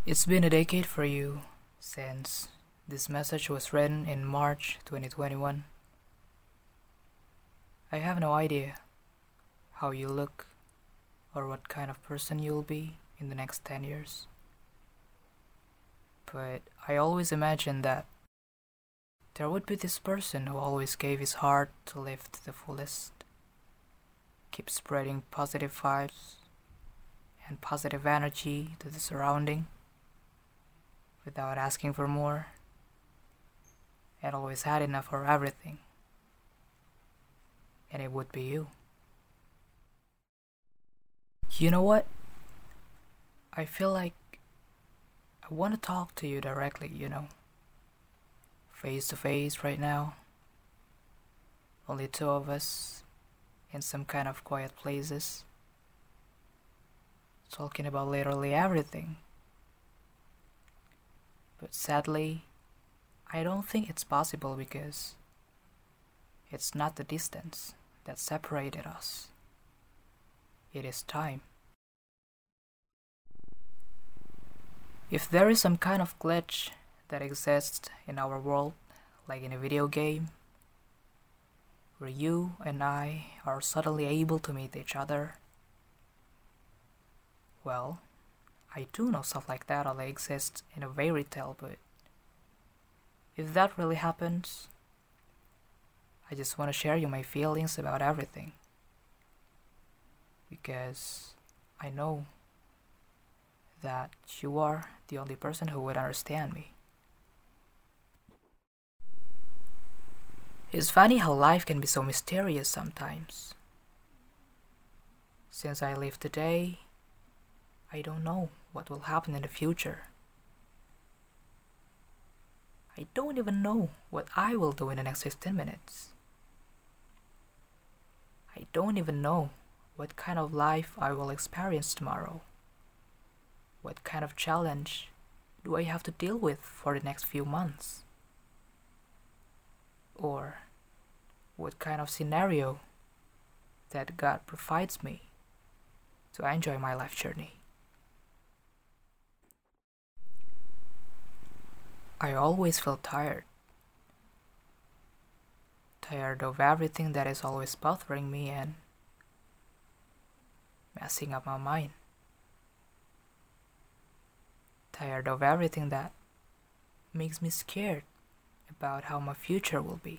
It's been a decade for you since this message was written in March 2021. I have no idea how you look or what kind of person you'll be in the next 10 years. But I always imagined that there would be this person who always gave his heart to live to the fullest, keep spreading positive vibes and positive energy to the surrounding without asking for more, and always had enough for everything. And it would be you. You know what? I feel like I want to talk to you directly, face to face right now. Only two of us in some kind of quiet places, talking about literally everything. But sadly, I don't think it's possible because it's not the distance that separated us. It is time. If there is some kind of glitch that exists in our world, like in a video game, where you and I are suddenly able to meet each other, well, I do know stuff like that only exists in a fairy tale, but if that really happens, I just want to share you my feelings about everything. Because I know that you are the only person who would understand me. It's funny how life can be so mysterious sometimes. Since I live today, I don't know what will happen in the future. I don't even know what I will do in the next 15 minutes. I don't even know what kind of life I will experience tomorrow. What kind of challenge do I have to deal with for the next few months? Or what kind of scenario that God provides me to enjoy my life journey. I always feel tired. Tired of everything that is always bothering me and messing up my mind. Tired of everything that makes me scared about how my future will be.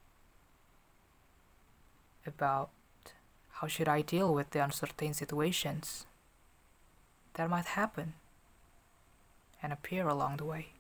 About how should I deal with the uncertain situations that might happen and appear along the way.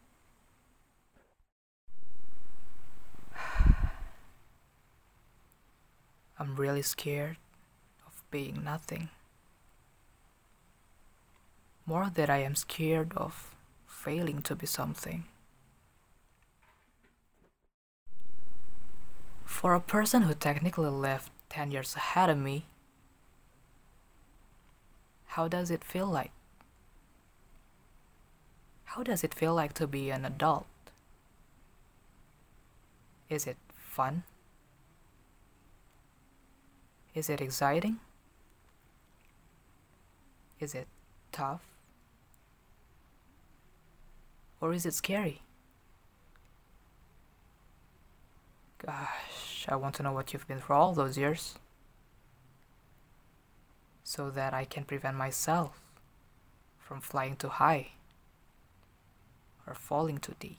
I'm really scared of being nothing. More that I am scared of failing to be something. For a person who technically lived 10 years ahead of me, how does it feel like? How does it feel like to be an adult? Is it fun? Is it exciting? Is it tough? Or is it scary? Gosh, I want to know what you've been through all those years, so that I can prevent myself from flying too high or falling too deep.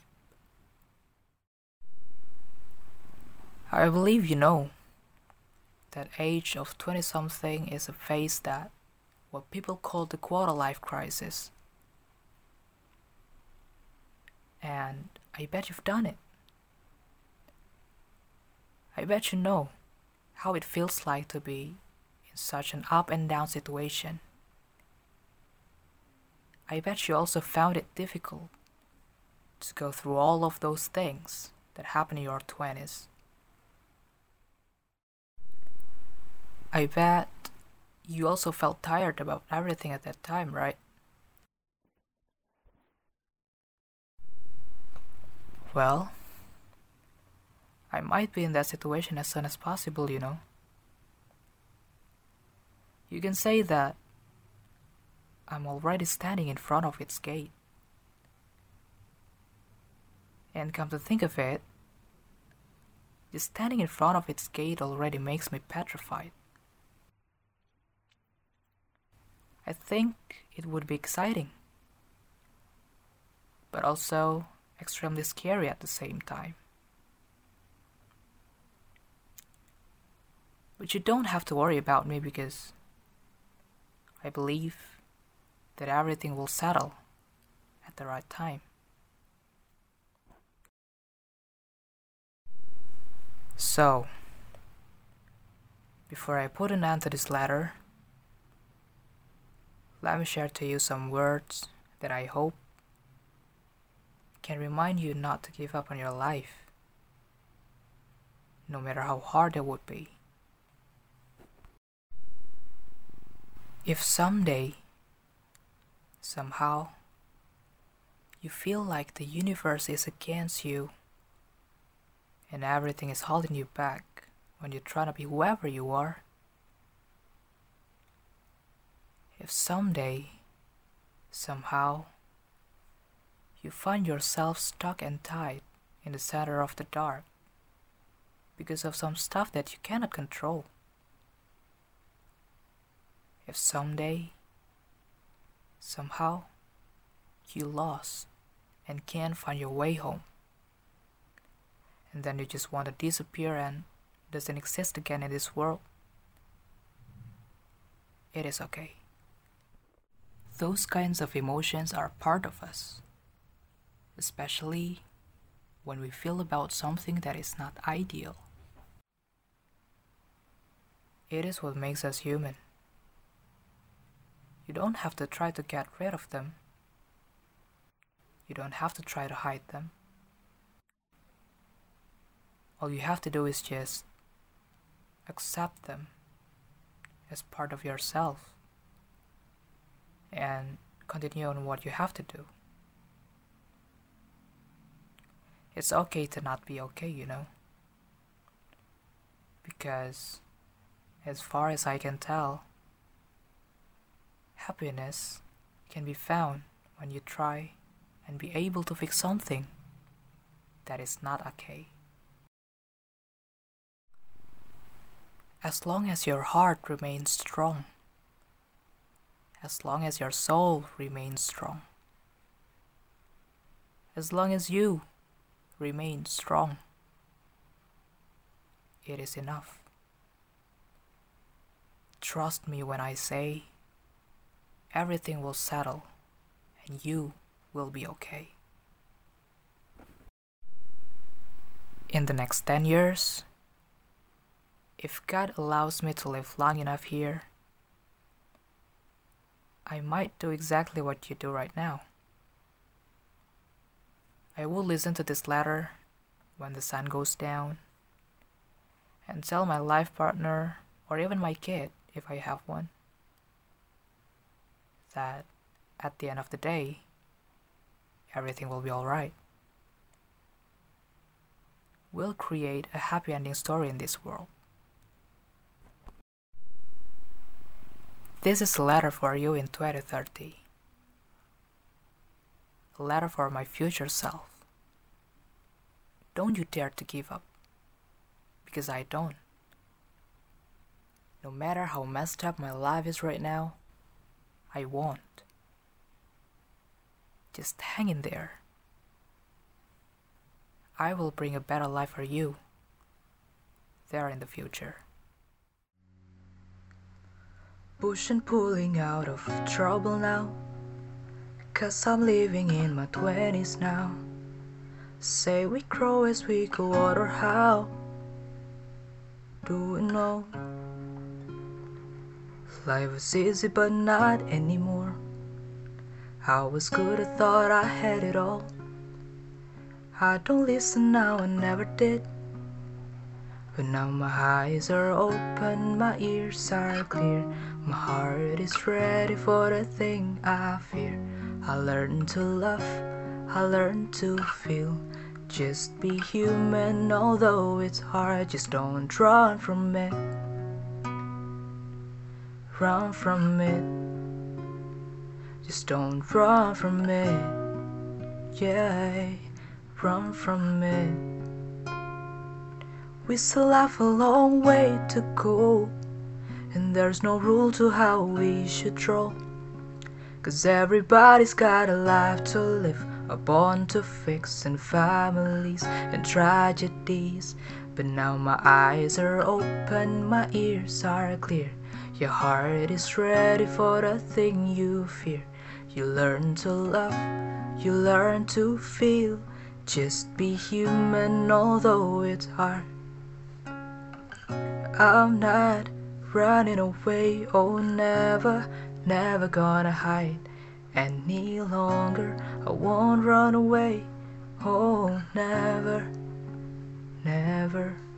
I believe you know that age of 20-something is a phase that what people call the quarter-life crisis. And I bet you've done it. I bet you know how it feels like to be in such an up and down situation. I bet you also found it difficult to go through all of those things that happen in your 20s. I bet you also felt tired about everything at that time, right? Well, I might be in that situation as soon as possible, You can say that I'm already standing in front of its gate. And come to think of it, just standing in front of its gate already makes me petrified. I think it would be exciting, but also extremely scary at the same time. But you don't have to worry about me because I believe that everything will settle at the right time. So, before I put an end to this letter, let me share to you some words that I hope can remind you not to give up on your life, no matter how hard it would be. If someday, somehow, you feel like the universe is against you and everything is holding you back when you're trying to be whoever you are, if someday, somehow, you find yourself stuck and tied in the center of the dark because of some stuff that you cannot control, if someday, somehow, you lost and can't find your way home, and then you just want to disappear and doesn't exist again in this world, it is okay. Those kinds of emotions are part of us, especially when we feel about something that is not ideal. It is what makes us human. You don't have to try to get rid of them. You don't have to try to hide them. All you have to do is just accept them as part of yourself and continue on what you have to do. It's okay to not be okay, you know, because as far as I can tell, happiness can be found when you try and be able to fix something that is not okay. As long as your heart remains strong, as long as your soul remains strong, as long as you remain strong, it is enough. Trust me when I say everything will settle and you will be okay. In the next 10 years, if God allows me to live long enough here, I might do exactly what you do right now. I will listen to this letter when the sun goes down and tell my life partner or even my kid, if I have one, that at the end of the day, everything will be alright. We'll create a happy ending story in this world. This is a letter for you in 2030. A letter for my future self. Don't you dare to give up, because I don't. No matter how messed up my life is right now, I won't. Just hang in there. I will bring a better life for you there in the future. Push and pulling out of trouble now, 'cause I'm living in my 20s now. Say we grow as we go, what or how? Do we know? Life was easy but not anymore. I was good, I thought I had it all. I don't listen now, I never did. But now my eyes are open, my ears are clear. My heart is ready for the thing I fear. I learned to love, I learned to feel. Just be human, although it's hard. Just don't run from it. Run from it. Just don't run from it. Yeah, run from it. We still have a long way to go, and there's no rule to how we should draw. 'Cause everybody's got a life to live, a bond to fix, and families and tragedies. But now my eyes are open, my ears are clear. Your heart is ready for the thing you fear. You learn to love, you learn to feel. Just be human, although it's hard. I'm not running away, oh never, never gonna hide any longer. I won't run away, oh never, never.